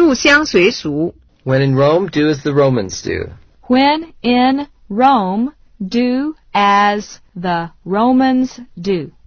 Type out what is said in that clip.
入乡随俗。 When in Rome, do as the Romans do. When in Rome, do as the Romans do.